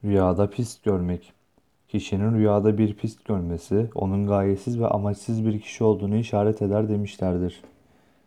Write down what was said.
Rüyada pist görmek. Kişinin rüyada bir pist görmesi, onun gayesiz ve amaçsız bir kişi olduğunu işaret eder demişlerdir.